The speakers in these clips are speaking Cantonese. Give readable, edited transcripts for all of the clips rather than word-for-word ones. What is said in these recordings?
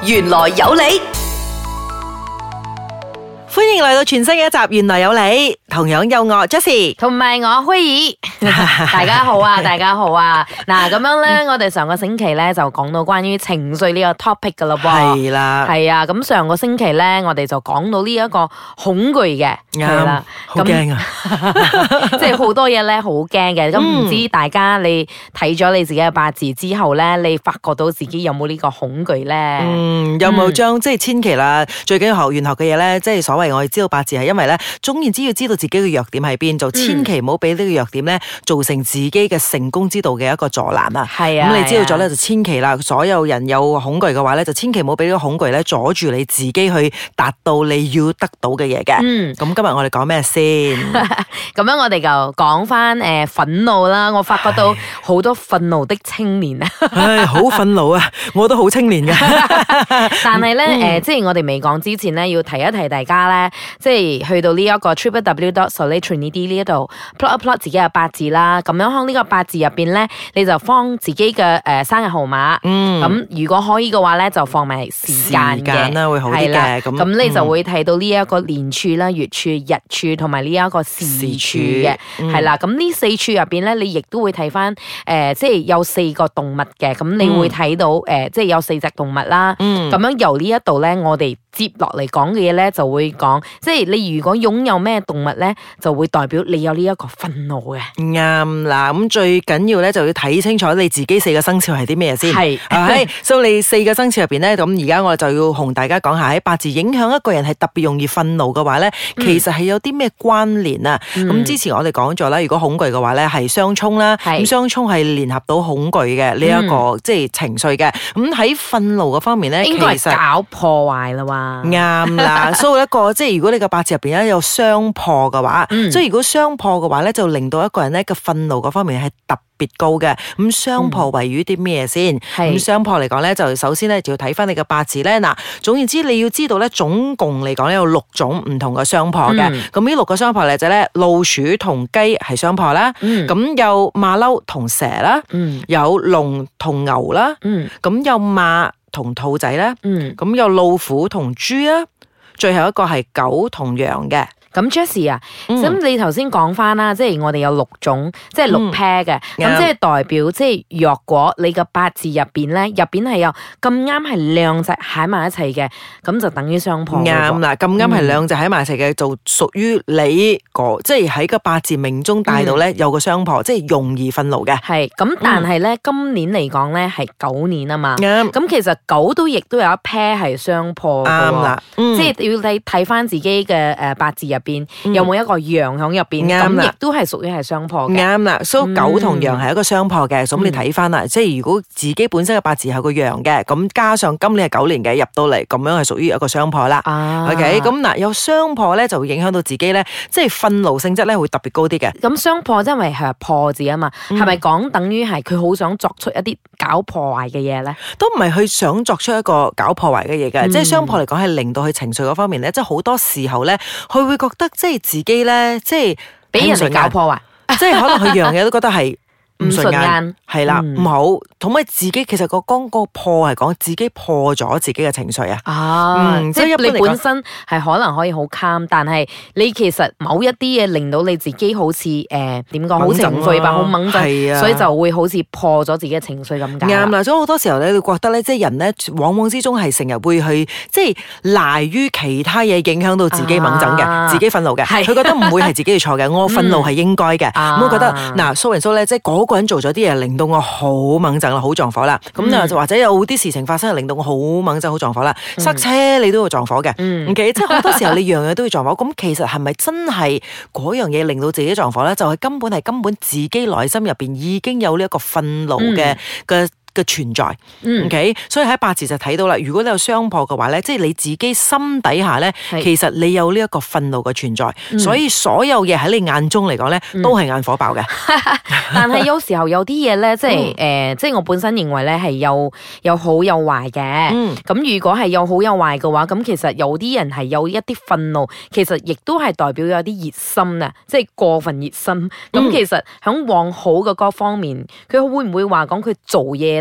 原來有你。 歡迎嚟到全新嘅一集，原來有你，同樣有我 Jessie 同埋我輝兒，大家好啊，大家好啊。嗱，咁樣咧，我哋上個星期咧就講到關於情緒呢個 topic 噶啦噃， 係啦， 係啊。咁上個星期咧，我哋就講到呢一個恐懼嘅，係啦， 好驚啊， 即係好多嘢咧，好驚嘅。咁唔知大家你睇咗你自己嘅八字之後咧，你發覺到自己有冇呢個恐懼咧？ 有冇將即係千祈啦，最緊要學玄學嘅嘢咧，即係所謂我哋知道八字係因為咧，總言之要知道自己嘅弱點喺邊，就千祈唔好俾呢個弱點咧造成自己嘅成功之道嘅一個阻攔啊。 係啊， 咁你知道咗咧就千祈啦，所有人有恐懼嘅話咧，就千祈唔好俾呢個恐懼咧阻住你自己去達到你要得到嘅嘢嘅。咁今日我哋講咩先？ 咁樣我哋就講翻憤怒啦。我發覺到好多憤怒的青年啊， 唉，好憤怒啊！我都好青年嘅。 但係咧即係我哋未講之前咧，要提一提大家咧，即係去到呢一個 www.solitrinity 呢一度 plot 一 plot 自己嘅八字啦。咁樣喺呢個八字入邊咧，你就放自己嘅生日號碼。咁如果可以嘅話咧，就放埋時間啦，會好啲嘅。 咁你就會睇到呢一個年柱啦、月柱、日柱同埋呢一個時柱嘅，係啦。咁呢四柱入邊咧，你亦都會睇翻即係有4個動物嘅。咁你會睇到即係有4隻動物啦。咁樣由呢一度咧，我哋接落嚟講嘅嘢咧，就會講，即係你如果擁有咩動物咧，就會代表你有呢一個憤怒嘅。 啱啦，咁最緊要咧就要睇清楚你自己4個生肖係啲咩先。係，所以你4個生肖入邊咧，咁而家我就要同大家講下喺八字影響一個人係特別容易憤怒嘅話咧，其實係有啲咩關聯啊？咁之前我哋講咗啦，如果恐懼嘅話咧係相沖啦，咁相沖係聯合到恐懼嘅呢一個即係情緒嘅。咁喺憤怒嘅方面咧， 應該係搞破壞啦嘛。 啱啦，所以一個即係如果你個八字入邊咧有雙破嘅話，即係如果雙破嘅話咧，就令到一個人咧個憤怒嗰方面係特別高嘅。咁雙破位於啲咩先？咁雙破嚟講咧，就首先咧就要睇翻你嘅八字咧。嗱，總言之你要知道咧，總共嚟講咧有6種唔同嘅雙破嘅。咁呢6個雙破嚟就咧，老鼠同雞係雙破啦。咁有馬騮同蛇啦。有龍同牛啦。咁有馬同兔仔啦。咁有老虎同豬啦。最後一個係狗同羊嘅。 咁 Jessie 啊，咁你頭先講翻啦，即係我哋有6種，即係6 pair 嘅，咁即係代表即係若果你個八字入邊咧，入邊係有咁啱係2隻喺埋一齊嘅，咁就等於雙破。 啱啦，咁啱係2隻喺埋一齊嘅，就屬於你個即係喺個八字命中帶到咧有個雙破，即係容易憤怒嘅。 係咁，但係咧今年嚟講咧係狗年啊嘛，咁其實狗都亦都有一 pair 係雙破嘅。啱啦，即係要睇翻自己嘅八字入邊有冇一個羊響入邊，咁亦都係屬於係雙破嘅。 啱啦，所以狗同羊係一個雙破嘅，咁你睇翻啦，即係如果自己本身嘅八字係個羊嘅，咁加上今年係狗年嘅入到嚟，咁樣係屬於一個雙破啦。OK， 咁嗱有雙破咧，就會影響到自己咧，即係憤怒性質咧會特別高啲嘅。 咁雙破因為係破字啊嘛，係咪講等於係佢好想作出一啲搞破壞嘅嘢咧？ 都唔係佢想作出一個搞破壞嘅嘢嘅，即係雙破嚟講係令到佢情緒嗰方面咧，即係好多時候咧，佢會覺得即係自己咧，即係俾人哋搞破壞， 即係可能佢樣嘢都覺得係唔順眼，係啦，唔好，同埋自己其實個破係講自己破咗自己嘅情緒啊。 即係你本身係可能可以好 calm，但係你其實某一啲嘢令到你自己好似點講，好情緒吧，好猛震，所以就會好似破咗自己嘅情緒咁解。 啱啦，所以好多時候咧，你覺得咧，即係人咧，往往之中係成日會去即係賴於其他嘢影響到自己猛震嘅，自己憤怒嘅，佢覺得唔會係自己嘅錯嘅，我憤怒係應該嘅，咁我覺得嗱，so and so咧，即係個人做咗啲嘢，令到我好猛震啦，好撞火啦。咁就或者有啲事情發生，令到我好猛震、好撞火啦。塞車你都要撞火嘅，OK？即係好多時候你樣樣都要撞火。咁其實係咪真係嗰樣嘢令到自己撞火咧？就係根本自己內心入邊已經有呢一個憤怒嘅存在，OK，所以喺八字就睇到啦。如果你有雙破嘅話咧，即係你自己心底下咧，其實你有呢一個憤怒嘅存在，所以所有嘢喺你眼中嚟講咧，都係眼火爆嘅。 但係有時候有啲嘢咧，即係即係我本身認為咧係有好有壞嘅。咁如果係有好有壞嘅話，咁其實有啲人係有一啲憤怒，其實亦都係代表有啲熱心啊，即係過分熱心。咁其實響往好嘅嗰方面，佢會唔會話講佢做嘢咧？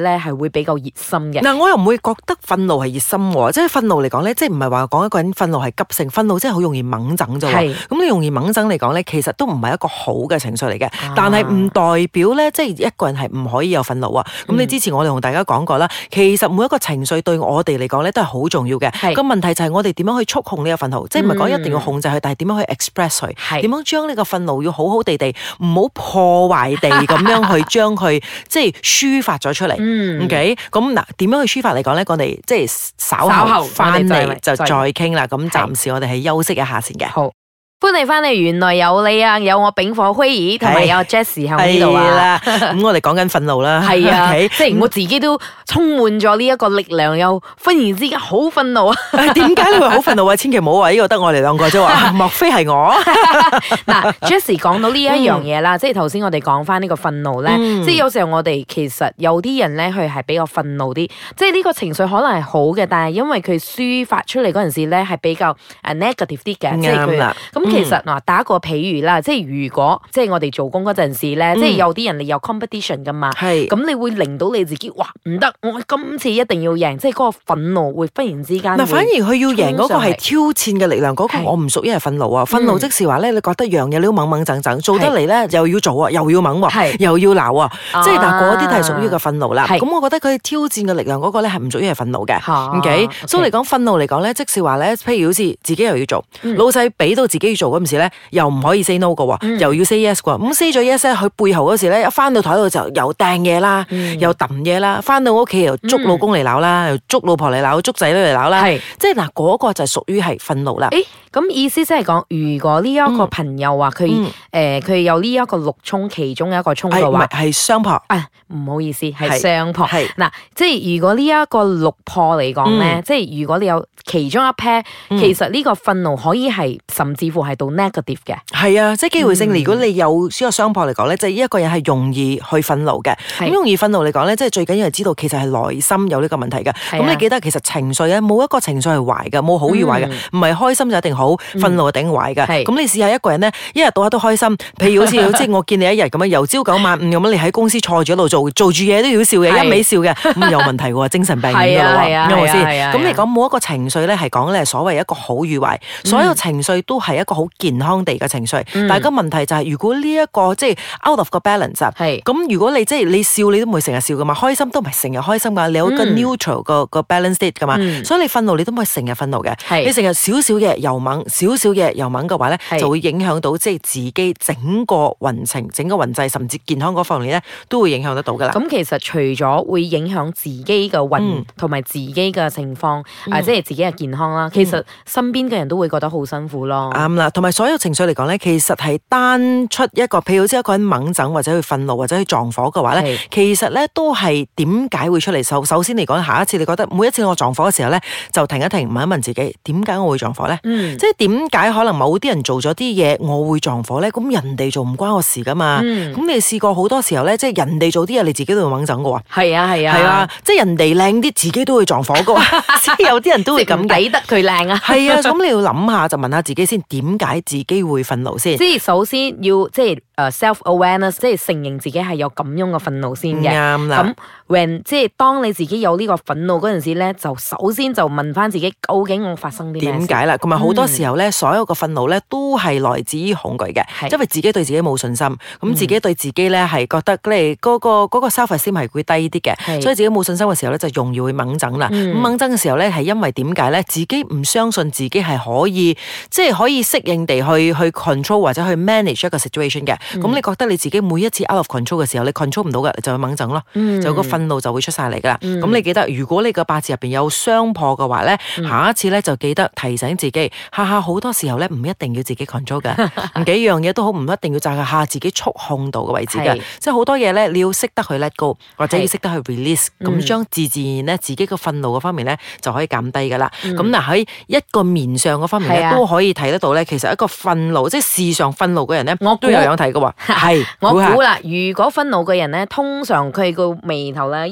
咧係會比較熱心嘅。 嗱，我又唔會覺得憤怒係熱心喎，即係憤怒嚟講咧，即係唔係話講一個人憤怒係急性，憤怒即係好容易猛整啫喎。咁你容易猛整嚟講咧，其實都唔係一個好嘅情緒嚟嘅，但係唔代表咧，即係一個人係唔可以有憤怒啊。咁你之前我哋同大家講過啦，其實每一個情緒對我哋嚟講咧都係好重要嘅。個問題就係我哋點樣去觸控呢個憤怒，即係唔係講一定要控制佢，但係點樣去 express 佢，點樣將呢個憤怒要好好地唔好破壞地咁樣去將佢即係抒發咗出嚟。OK， 咁嗱，點樣去抒發嚟講咧？我哋即係稍後翻嚟就再傾啦。咁暫時我哋係休息一下先嘅。 好。歡迎翻嚟，原來有你啊，有我丙火輝兒同埋有 Jessie 喺呢度啊。 咁我哋講緊憤怒啦， 係啊，即係我自己都充滿咗呢一個力量，又忽然之間好憤怒啊！ 點解你會好憤怒啊？千祈唔好話呢個得我哋兩個啫，話莫非係我？ 嗱，Jessie 講到呢一樣嘢啦，即係頭先我哋講翻呢個憤怒咧，即係有時候我哋其實有啲人咧，佢係比較憤怒啲，即係呢個情緒可能係好嘅，但係因為佢抒發出嚟嗰陣時咧，係比較negative 啲嘅，即係佢咁。其實嗱，打個譬如啦，即係如果即係我哋做工嗰陣時咧，即係有啲人你有 competition 噶嘛，咁你會令到你自己哇唔得，我今次一定要贏，即係嗰個憤怒會忽然之間。嗱， 反而佢要贏嗰個係挑戰嘅力量，嗰個我唔屬於係憤怒啊！憤怒即是話咧，你覺得樣嘢你都猛猛整整，做得嚟咧又要做啊，又要猛喎，又要鬧啊，即係嗱嗰啲都係屬於個憤怒啦。咁我覺得佢挑戰嘅力量嗰個咧係唔屬於係憤怒嘅。OK，所以嚟講憤怒嚟講咧，即是話咧，譬如好似自己又要做，老細俾到自己要做嗰陣時咧，又唔可以 say no 嘅喎，又要 say yes 嘅喎。咁 say 咗 yes 咧，佢背後嗰時咧，一翻到台度就又掟嘢啦，又揼嘢啦，翻到屋企又捉老公嚟鬧啦，又捉老婆嚟鬧，捉仔女嚟鬧啦。即係嗱，嗰個就係屬於係憤怒啦。 咁意思即係講，如果呢一個朋友話佢有呢一個六衝其中一個衝嘅話， 係雙破。 唔好意思，係雙破。嗱，即係如果呢一個六破嚟講咧，即係如果你有其中一 pair，其實呢個憤怒可以係甚至乎係到 negative 嘅。 係啊，即係機會性。如果你有呢個雙破嚟講咧，即係一個人係容易去憤怒嘅。咁容易憤怒嚟講咧，即係最緊要係知道其實係內心有呢個問題嘅。咁你記得其實情緒咧，冇一個情緒係壞嘅，冇好與壞嘅，唔係開心就一定好，憤怒就一定壞嘅。咁你試下一個人咧，一日到黑都開心，譬如好似我見你一日咁樣，由朝九晚五咁樣，你喺公司坐住喺度做住嘢都要笑嘅，一味笑嘅，咁有問題喎，精神病院㗎啦喎，啱唔啱先？咁你講冇一個情緒咧係講咧所謂一個好與壞，所有情緒都係一個好健康地嘅情緒。但係個問題就係，如果呢一個即係 out of 個 balance，咁如果你即係你笑你都唔會成日笑噶嘛，開心都唔係成日開心噶，你有個 neutral 個 balance state 噶嘛，所以你憤怒你都唔可以成日憤怒嘅，你成日少少嘅又猛，少少嘅又猛嘅話咧，就會影響到即係自己整個運程、整個運勢，甚至健康嗰方面咧，都會影響得到噶啦。 咁其實除咗會影響自己嘅運同埋自己嘅情況，即係自己嘅健康啦，其實身邊嘅人都會覺得好辛苦咯。 啱啦，同埋所有情緒嚟講咧，其實係單出一個，譬如好似一個人猛整或者去憤怒或者去撞火嘅話咧，其實咧都係點解會出嚟？首先嚟講，下一次你覺得每一次我撞火嘅時候咧，就停一停，問一問自己，點解我會撞火咧？即係點解可能某啲人做咗啲嘢，我會撞火咧？咁人哋做唔關我事噶嘛？咁你試過好多時候咧，即係人哋做啲嘢，你自己都會猛整嘅喎。 係啊， 即係人哋靚啲，自己都會撞火嘅喎。即係有啲人都會咁抵得佢靚啊。 係啊，咁你要諗下，就問下自己先，點解自己會憤怒先？ 即係首先要即係self-awareness， 即係承認自己係有咁樣嘅憤怒先嘅。 啱啦。 咁即係當你自己有呢個憤怒嗰陣時咧，就首先就問翻自己，究竟我發生啲咩事？ 點解啦？咁啊好多時候咧，所有嘅憤怒咧都係來自於恐懼嘅，因為自己對自己冇信心，咁自己對自己咧係覺得咧嗰個 self-esteem 係會低啲嘅，所以自己冇信心嘅時候咧就容易會猛整啦。咁猛整嘅時候咧係因為點解咧？自己唔相信自己係可以即係可以適應地去 control 或者去 manage 一個 situation 嘅。咁你覺得你自己每一次 out of control 嘅時候，你 control 唔到嘅，就會猛整咯，就個憤怒就會出晒嚟噶啦。咁你記得，如果你個八字入邊有雙破嘅話咧，下一次咧就記得提醒自己，下好多時候咧唔一定要自己 control 嘅，幾樣嘢都好，唔一定要就係下自己觸控到嘅位置嘅，即係好多嘢咧你要識得去 let go， 或者要識得去 release，咁將自然咧自己個憤怒嗰方面咧就可以減低噶啦。咁嗱喺一個面上嗰方面咧都可以睇得到咧，其實一個憤怒即係事上憤怒嘅人咧，我都有樣睇嘅喎。係我估啦，如果憤怒嘅人咧，通常佢個眉頭咧一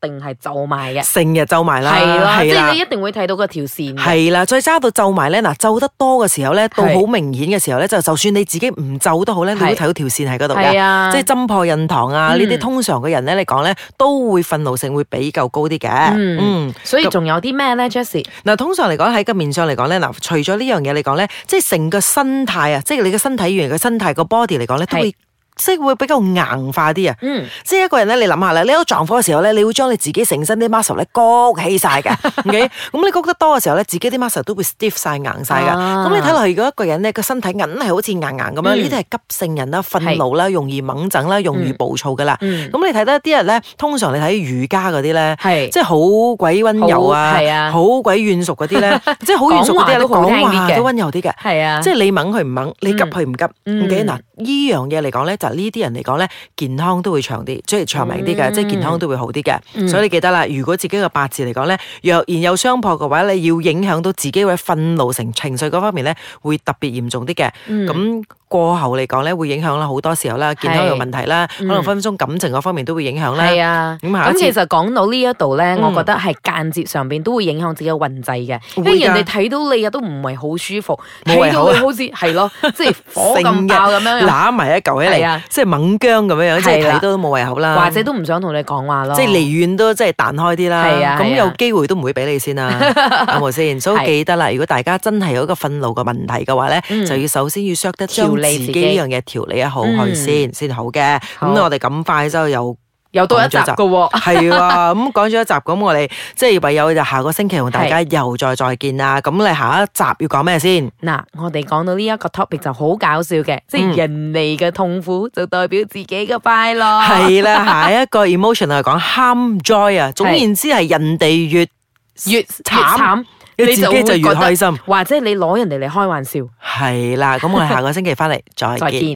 定係皺埋嘅， 成日皺埋啦， 係啦，即係你一定會睇到嗰條線。 係啦，再揸到皺埋咧，嗱皺得多嘅時候咧，到好明顯嘅時候咧，就算你自己唔皺都好咧，你會睇到條線喺嗰度嘅，即係針破印堂啊呢啲，通常嘅人咧嚟講咧，都會憤怒性會比較高啲嘅。 所以仲有啲咩咧 Jessie？ 嗱，通常嚟講喺個面上嚟講咧，嗱，除咗呢樣嘢嚟講咧，即係成個身態啊，即係你嘅身體語言嘅身態個 body 嚟講咧，都會。即係會比較硬化啲啊！即係一個人咧，你諗下啦，你喺度撞火嘅時候咧，你會將你自己成身啲 muscle 咧谷起晒嘅，OK？ 咁你谷得多嘅時候咧，自己啲 muscle 都會 stiff 晒硬晒噶。咁你睇落去，如果一個人咧個身體硬係好似硬咁樣，呢啲係急性人啦、憤怒啦、容易猛整啦、容易暴躁噶啦。咁你睇得啲人咧，通常你睇瑜伽嗰啲咧，即係好鬼温柔啊，好鬼軟熟嗰啲咧，即係好軟熟嗰啲，講話都温柔啲嘅。係啊，即係你猛佢唔猛，你急佢唔急。OK？ 嗱，呢樣嘢嚟講咧就。呢啲人嚟講咧，健康都會長啲，即係長命啲嘅，即係健康都會好啲嘅。所以你記得啦，如果自己嘅八字嚟講咧，若然有傷破嘅話，你要影響到自己嘅憤怒情緒嗰方面咧，會特別嚴重啲嘅。咁過後嚟講咧，會影響啦好多時候啦，健康有問題啦，可能分分鐘感情嗰方面都會影響啦。係啊，咁其實講到呢一度咧，我覺得係間接上邊都會影響自己嘅運勢嘅，因為人哋睇到你啊都唔係好舒服，睇到你好似係咯，即係火咁爆咁樣， 攬埋一嚿起嚟。即係猛姜咁樣樣，即係睇到都冇胃口啦， 或者都唔想同你講話咯， 即係離遠都即係彈開啲啦。咁有機會都唔會俾你先啦，係咪先？所以記得啦，如果大家真係有一個憤怒嘅問題嘅話咧，就要首先要識得將自己呢樣嘢調理好去先好嘅。咁我哋咁快之後又多一集嘅喎，係啊，咁講咗一集，咁我哋即係唯有就下個星期同大家又再見啦。咁你下一集要講咩先？ 嗱，我哋講到呢一個 topic 就好搞笑嘅，即係人哋嘅痛苦就代表自己嘅快樂。係啦，下一個 emotion 係講 harm joy 啊，總言之係人哋越慘，你自己就越開心， 或者你攞人哋嚟開玩笑。 係啦，咁我哋下個星期翻嚟再見。